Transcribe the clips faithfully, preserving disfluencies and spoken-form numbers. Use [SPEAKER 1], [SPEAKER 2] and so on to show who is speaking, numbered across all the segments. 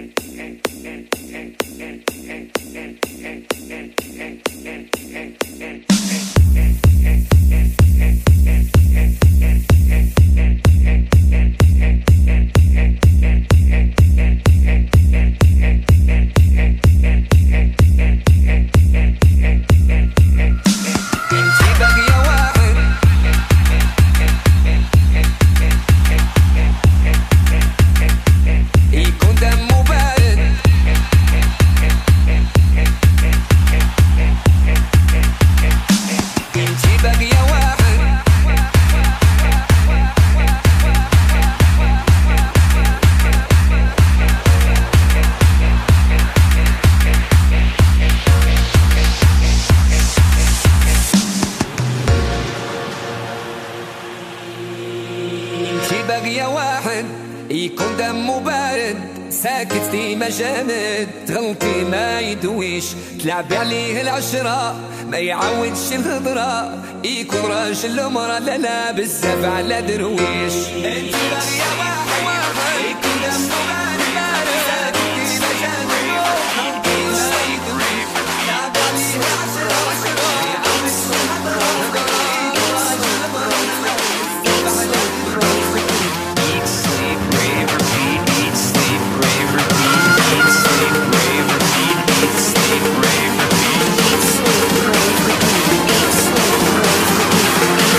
[SPEAKER 1] يكون دمه بارد ساكت ديما جامد تغلطي ما يدويش تلعب عليه العشرة ما يعودش الهضرة يكون راجل ومرا لا لا بزاف على درويش انت باغية واحد واحد يكون دمه بارد بارد ساكت ديما جامد تغلطي ما يدويش تلعب عليه العشرة عشرة ما يعودش الهضرة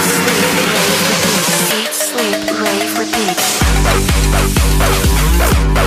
[SPEAKER 2] Sleep, rave, repeat.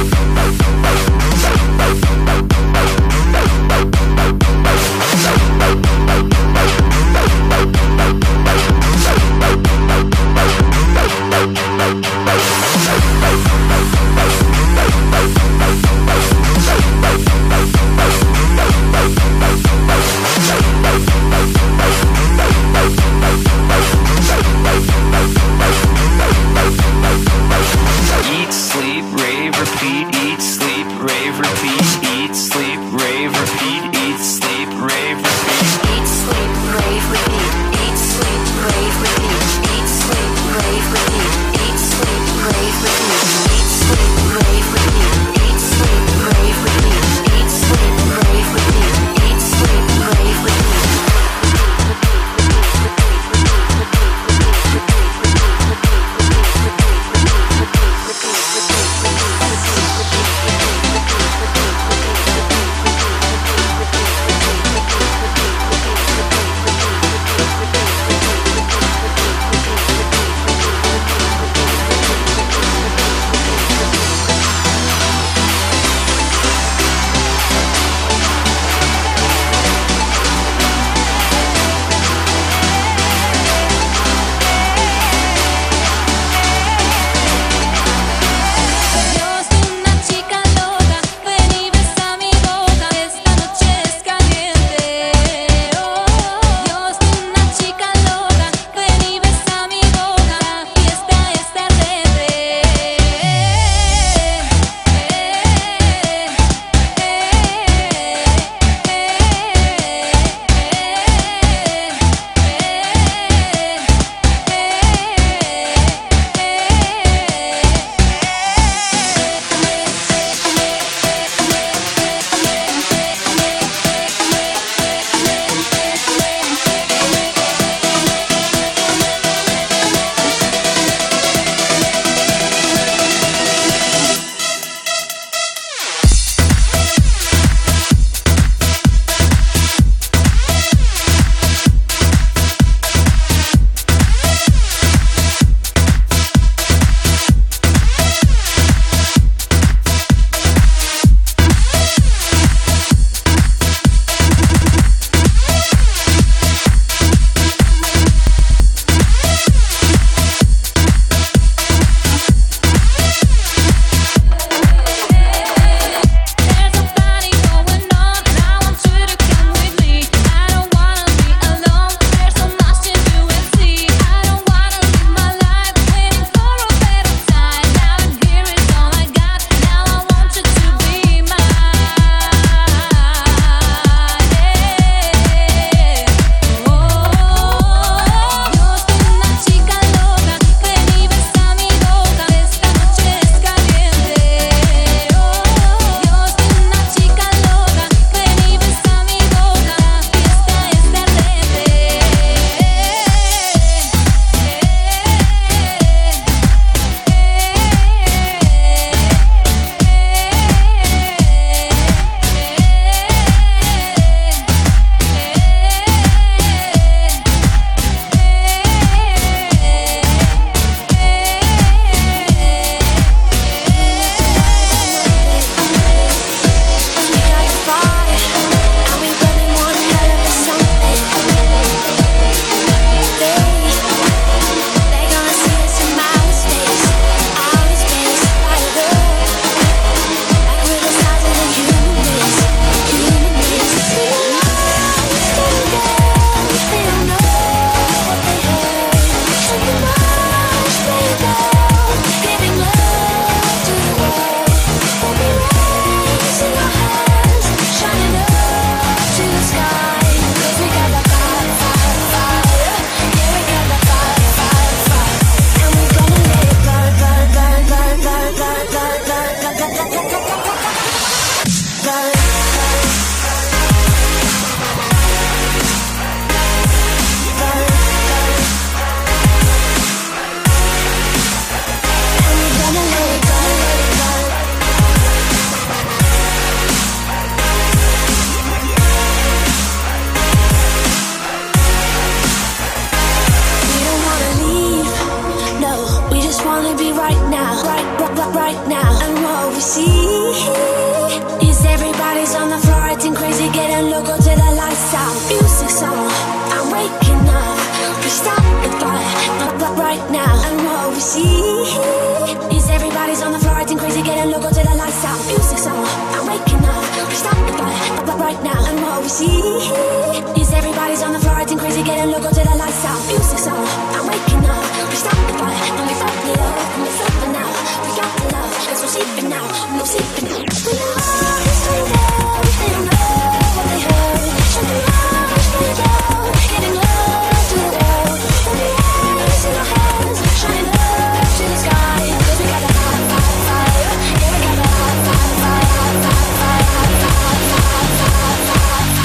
[SPEAKER 2] stop the bar, but, but right now. And what we see is everybody's on the floor acting crazy, getting loco till the lights out. Music's on, I'm waking up. We stop the bar, but, but right now. And what we see is everybody's on the floor acting crazy, getting loco till the lights out. Music's on, I'm waking up. We stop the bar, and we stop the love, and we're sleeping now. We got the love, cause we're sleeping now. No sleeping now. We know it's right there, they don't know what they heard. Show me love, spread it out, getting love to the world. Hold the eyes in our hands, shining love to the sky. Cause we got the hot, hot fire. Yeah, we got the hot, hot fire, hot, hot fire, hot, hot, hot, hot, hot, hot.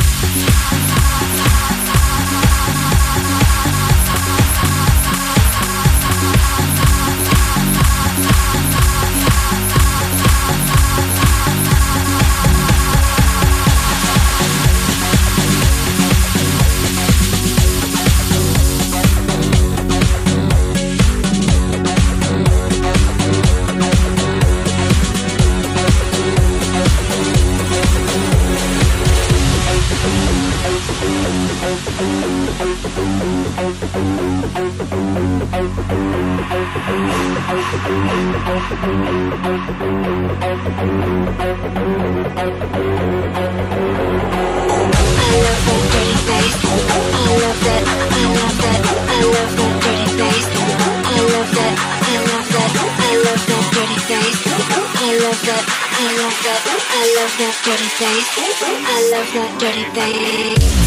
[SPEAKER 2] I love that dirty face.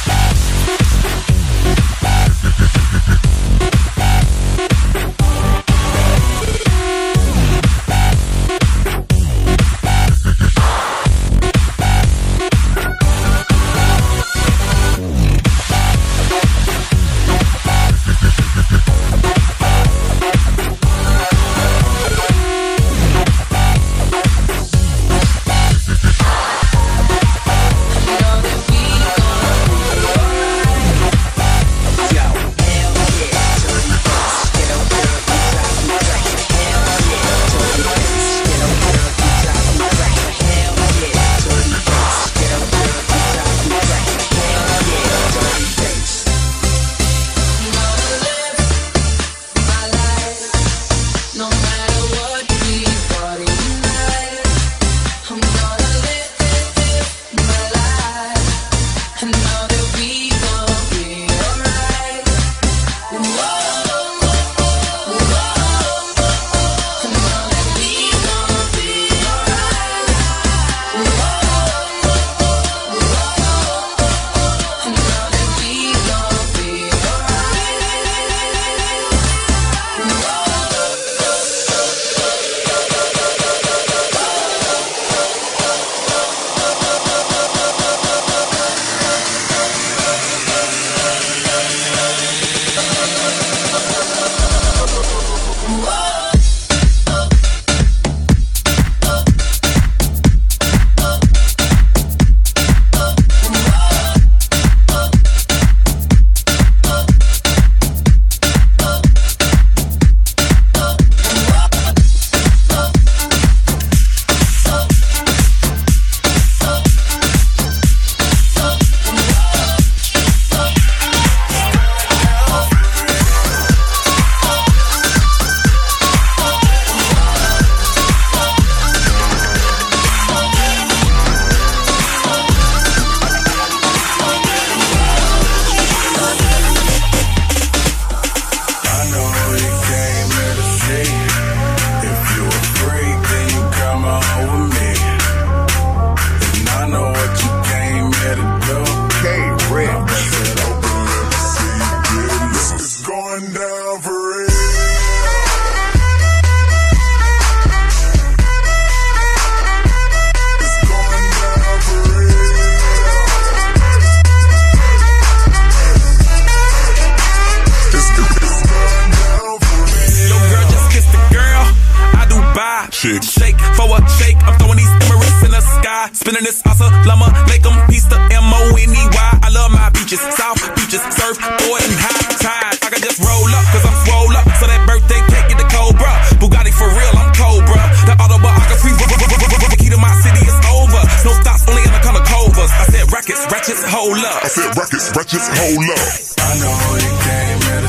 [SPEAKER 3] chick. Shake for a shake, I'm throwing these Emirates in the sky. Spinning this Assalamu alaikum, peace to M O N E Y. I love my beaches, South beaches, surf, boy, and high tide. I can just roll up, cause I'm swole up. So that birthday cake get the Cobra. Bugatti for real, I'm Cobra. The autobiography, the key to my city is over. No stops, only in the color Cobras. I said rackets, ratchets, hold up.
[SPEAKER 4] I said rackets, ratchets, hold up.
[SPEAKER 5] I know you came in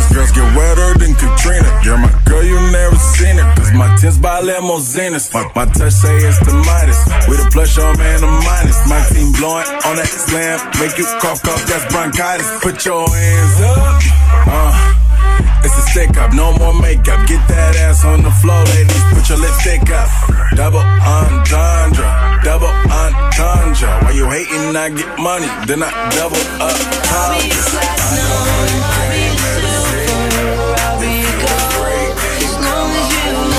[SPEAKER 4] Girls get wetter than Katrina. You're my girl, you never seen it. Cause my tins by limousines. My, my touch say it's the Midas. With a plus, your man, a minus. My team blowing on that slam. Make you cough, cough, that's bronchitis. Put your hands up. Uh. It's a stick up, no more makeup. Get that ass on the floor, ladies. Put your lipstick up. Double entendre, double entendre. Why you hating? I get money, then I double up.
[SPEAKER 5] I'll be a platinum, I'll be a silver, I'll be a gold, as long as you know.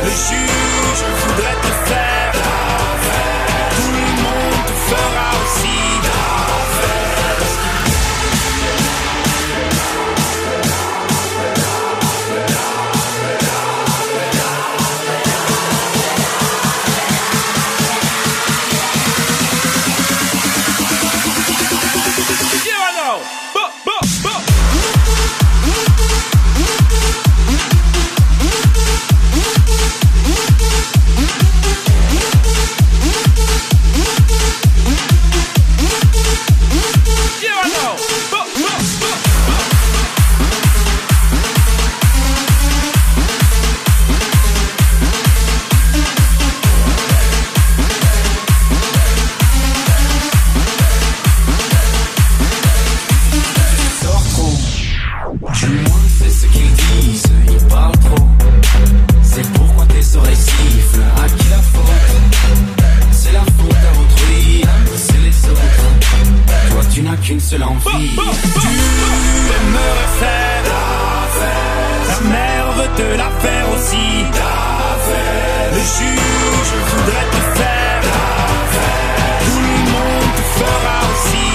[SPEAKER 3] Le juge voudrait te faire, tout le monde te fera aussi.
[SPEAKER 6] Qu'une seule envie.
[SPEAKER 3] Tu aimerais faire ta mère veut te la faire aussi. Le juge voudrait te faire, tout le monde te fera aussi.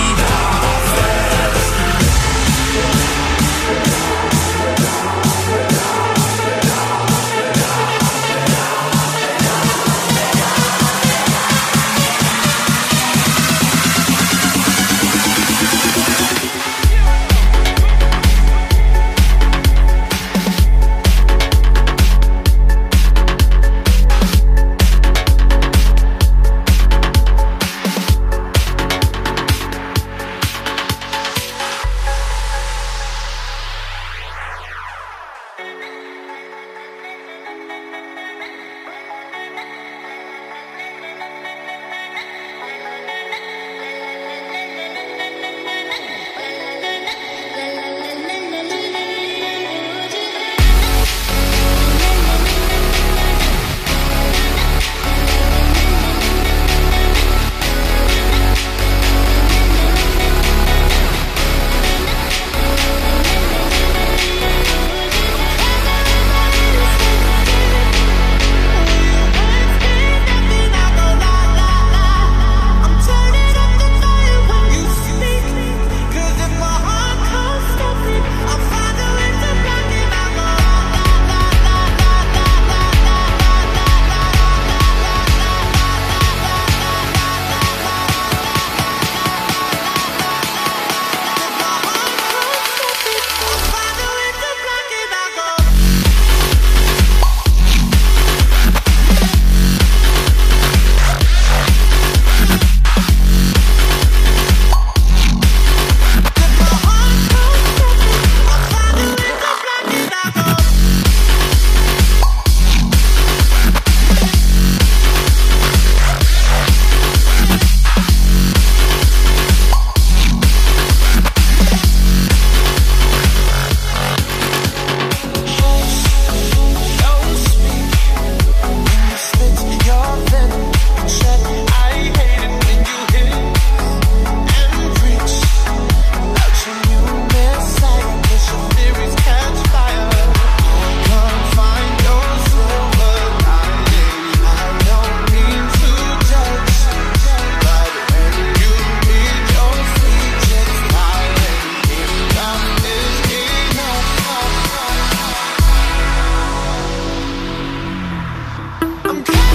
[SPEAKER 7] I'm